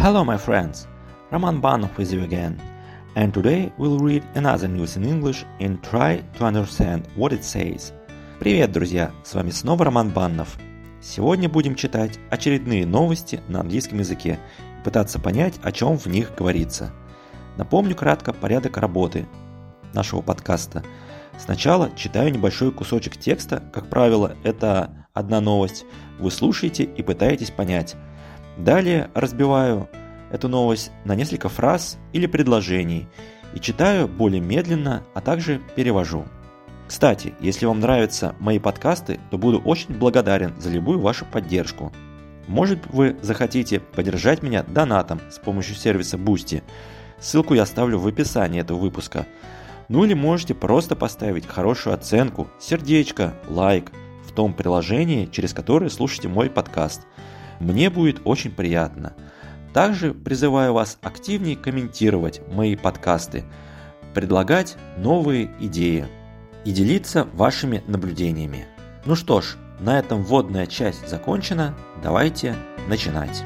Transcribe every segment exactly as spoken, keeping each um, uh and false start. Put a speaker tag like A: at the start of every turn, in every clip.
A: Hello my friends, Roman Banov with you again, and today we'll read another news in English and try to understand what it says. Привет, друзья, с вами снова Роман Баннов. Сегодня будем читать очередные новости на английском языке и пытаться понять, о чем в них говорится. Напомню кратко порядок работы нашего подкаста. Сначала читаю небольшой кусочек текста, как правило, это одна новость, вы слушаете и пытаетесь понять. Далее разбиваю эту новость на несколько фраз или предложений и читаю более медленно, а также перевожу. Кстати, если вам нравятся мои подкасты, то буду очень благодарен за любую вашу поддержку. Может, вы захотите поддержать меня донатом с помощью сервиса Boosty. Ссылку я оставлю в описании этого выпуска. Ну или можете просто поставить хорошую оценку, сердечко, лайк в том приложении, через которое слушаете мой подкаст. Мне будет очень приятно. Также призываю вас активнее комментировать мои подкасты, предлагать новые идеи и делиться вашими наблюдениями. Ну что ж, на этом вводная часть закончена. Давайте начинать.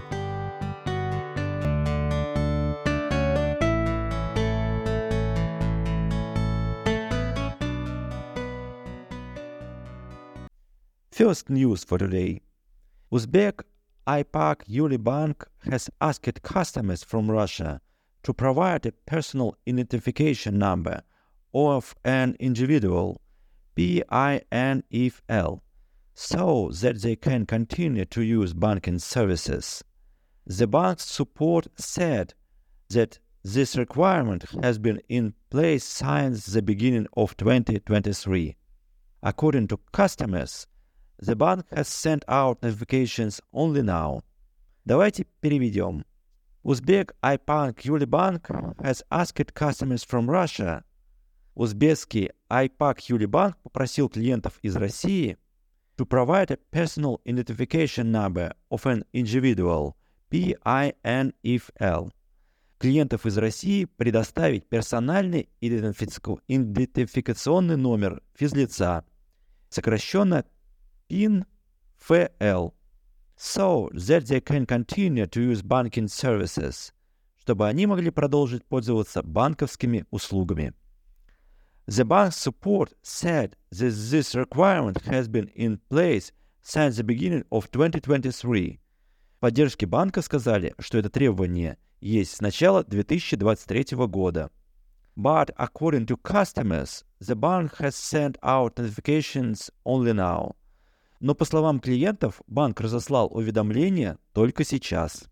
B: First news for today. Uzbek Aypak Yuli Bank has asked customers from Russia to provide a personal identification number of an individual, P I N F L, so that they can continue to use banking services. The bank's support said that this requirement has been in place since the beginning of twenty twenty-three. According to customers, the bank has sent out notifications only now. Давайте переведем. Uzbek Aypak Yuli Bank has asked customers from Russia. Узбекский Aypak Yuli Bank попросил клиентов из России to provide a personal identification number of an individual, P I N F L. Клиентов из России предоставить персональный идентификационный номер физлица, сокращенно P I N F L, so that they can continue to use banking services, чтобы они могли продолжить пользоваться банковскими услугами. The bank's support said that this requirement has been in place since the beginning of twenty twenty-three. Поддержки банка сказали, что это требование есть с начала две тысячи двадцать третьего года. But according to customers, the bank has sent out notifications only now. Но по словам клиентов, банк разослал уведомления только сейчас.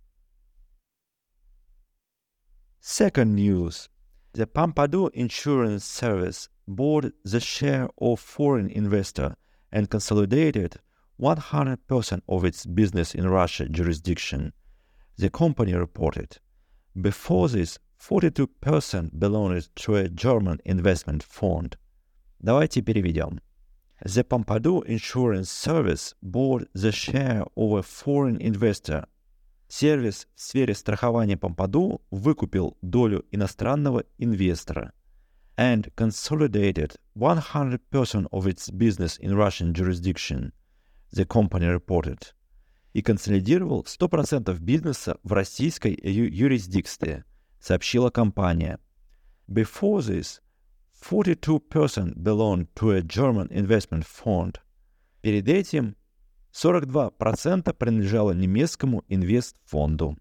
B: Second news. The Pompidou Insurance Service bought the share of foreign investor and consolidated one hundred percent of its business in Russia jurisdiction, the company reported. Before this, forty-two percent belonged to a German investment fund. Давайте переведем. The Pompidou Insurance Service bought the share of a foreign investor. Сервис в сфере страхования Pompidou выкупил долю иностранного инвестора and consolidated one hundred percent of its business in Russian jurisdiction, the company reported. И консолидировал сто процентов бизнеса в российской ю- юрисдикции, сообщила компания. Before this, forty-two percent belonged to a German investment fund. Перед этим сорок два процента принадлежало немецкому инвестфонду.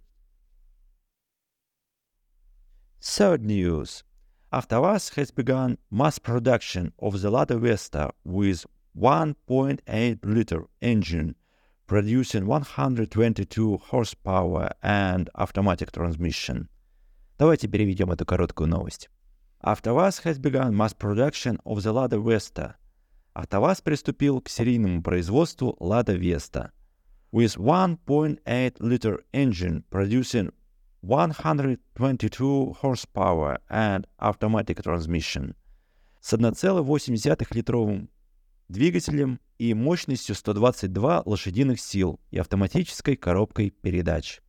B: Third news. АвтоВАЗ has begun mass production of the Lada Vesta with one point eight liter engine producing one hundred twenty-two horsepower and automatic transmission. Давайте переведем эту короткую новость. АвтоВАЗ has begun mass production of the Lada Vesta. АвтоВАЗ приступил к серийному производству Lada Vesta with one point eight liter engine producing one hundred twenty-two horsepower and automatic transmission с one целых восемь десятых литровым двигателем и мощностью сто двадцать два лошадиных сил и автоматической коробкой передач.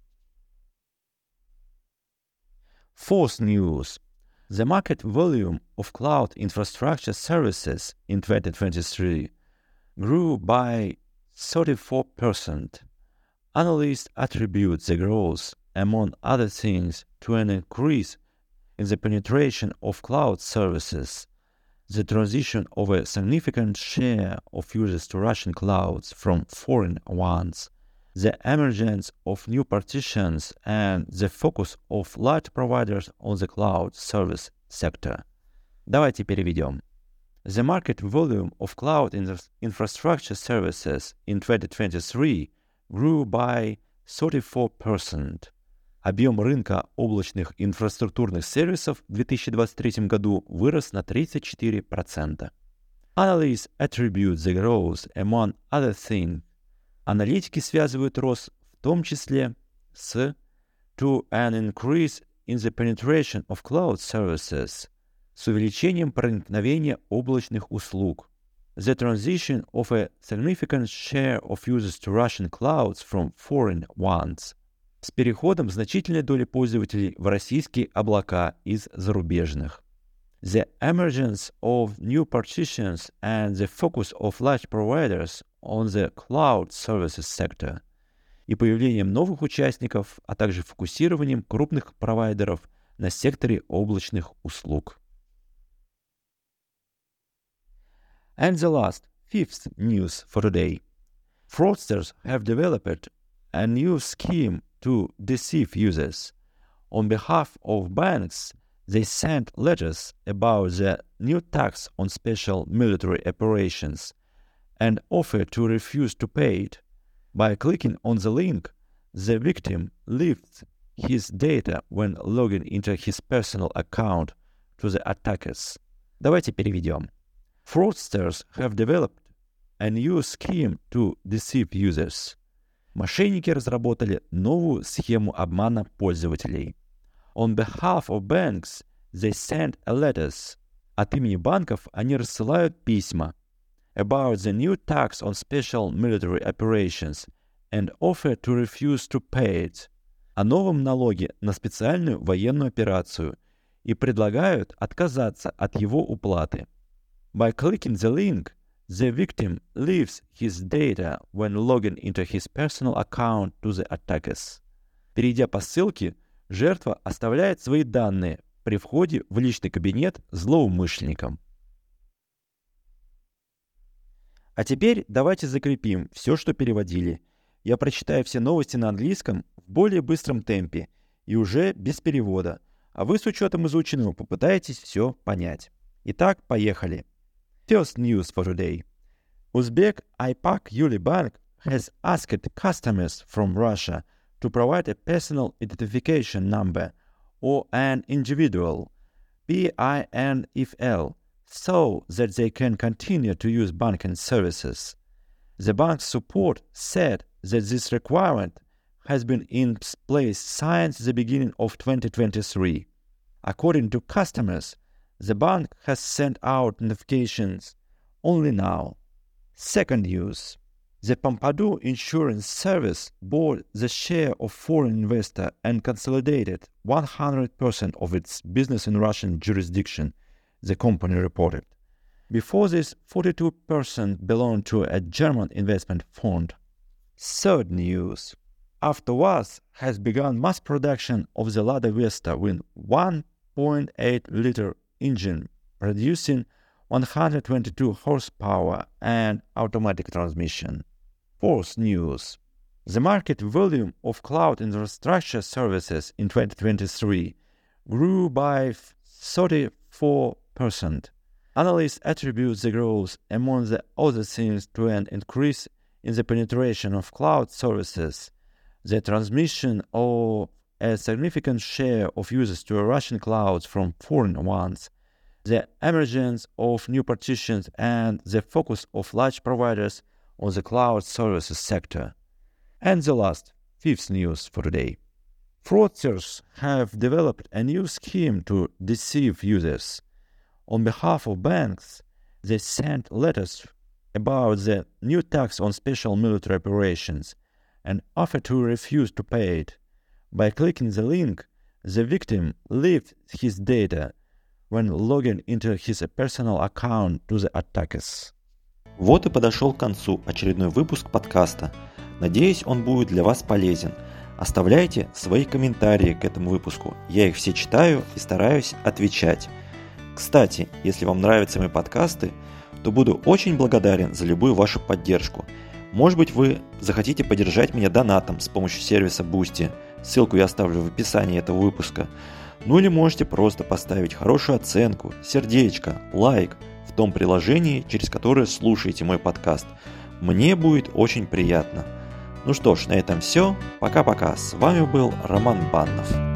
B: Fourth news. The market volume of cloud infrastructure services in twenty twenty-three grew by thirty-four percent. Analysts attribute the growth among other things, to an increase in the penetration of cloud services, the transition of a significant share of users to Russian clouds from foreign ones, the emergence of new partitions, and the focus of large providers on the cloud service sector. Давайте переведем. The market volume of cloud infrastructure services in twenty twenty-three grew by thirty-four percent. Объем рынка облачных инфраструктурных сервисов в две тысячи двадцать третьем году вырос на тридцать четыре процента. Analysts attribute the growth, among other things. Аналитики связывают рост в том числе с to an increase in the penetration of cloud services, с увеличением проникновения облачных услуг, the transition of a significant share of users to Russian clouds from foreign ones, с переходом значительной доли пользователей в российские облака из зарубежных, the emergence of new partitions and the focus of large providers on the cloud services sector, и появлением новых участников, а также фокусированием крупных провайдеров на секторе облачных услуг. And the last, fifth news for today. Fraudsters have developed a new scheme to deceive users. On behalf of banks, they sent letters about the new tax on special military operations and offered to refuse to pay it. By clicking on the link, the victim leaves his data when logging into his personal account to the attackers. Давайте переведем. Fraudsters have developed a new scheme to deceive users. Мошенники разработали новую схему обмана пользователей. On behalf of banks, they send letters. От имени банков они рассылают письма about the new tax on special military operations and offer to refuse to pay it. О новом налоге на специальную военную операцию и предлагают отказаться от его уплаты. By clicking the link, the victim leaves his data when logging into his personal account to the attackers. Перейдя по ссылке, жертва оставляет свои данные при входе в личный кабинет злоумышленникам. А теперь давайте закрепим все, что переводили. Я прочитаю все новости на английском в более быстром темпе и уже без перевода, а вы с учетом изученного попытаетесь все понять. Итак, поехали. First news for today. Uzbek Aypak Yuli Bank has asked customers from Russia to provide a personal identification number or an individual P I N F L so that they can continue to use banking services. The bank's support said that this requirement has been in place since the beginning of twenty twenty-three. According to customers, the bank has sent out notifications only now. Second news. The Pompidou Insurance Service bought the share of foreign investor and consolidated one hundred percent of its business in Russian jurisdiction, the company reported. Before this, forty-two percent belonged to a German investment fund. Third news. AvtoVAZ has begun mass production of the Lada Vesta with one point eight liter engine producing one hundred twenty-two horsepower and automatic transmission. Fourth news. The market volume of cloud infrastructure services in twenty twenty-three grew by thirty-four percent. Analysts attribute the growth, among the other things, to an increase in the penetration of cloud services, the transmission of a significant share of users to Russian clouds from foreign ones, the emergence of new partitions, and the focus of large providers on the cloud services sector. And the last, fifth news for today. Fraudsters have developed a new scheme to deceive users. On behalf of banks, they sent letters about the new tax on special military operations and offered to refuse to pay it. By clicking the link, the victim leaves his data when logging into his personal account to the attackers.
A: Вот и подошел к концу очередной выпуск подкаста. Надеюсь, он будет для вас полезен. Оставляйте свои комментарии к этому выпуску. Я их все читаю и стараюсь отвечать. Кстати, если вам нравятся мои подкасты, то буду очень благодарен за любую вашу поддержку. Может быть, вы захотите поддержать меня донатом с помощью сервиса Boosty. Ссылку я оставлю в описании этого выпуска. Ну или можете просто поставить хорошую оценку, сердечко, лайк в том приложении, через которое слушаете мой подкаст. Мне будет очень приятно. Ну что ж, на этом все. Пока-пока. С вами был Роман Баннов.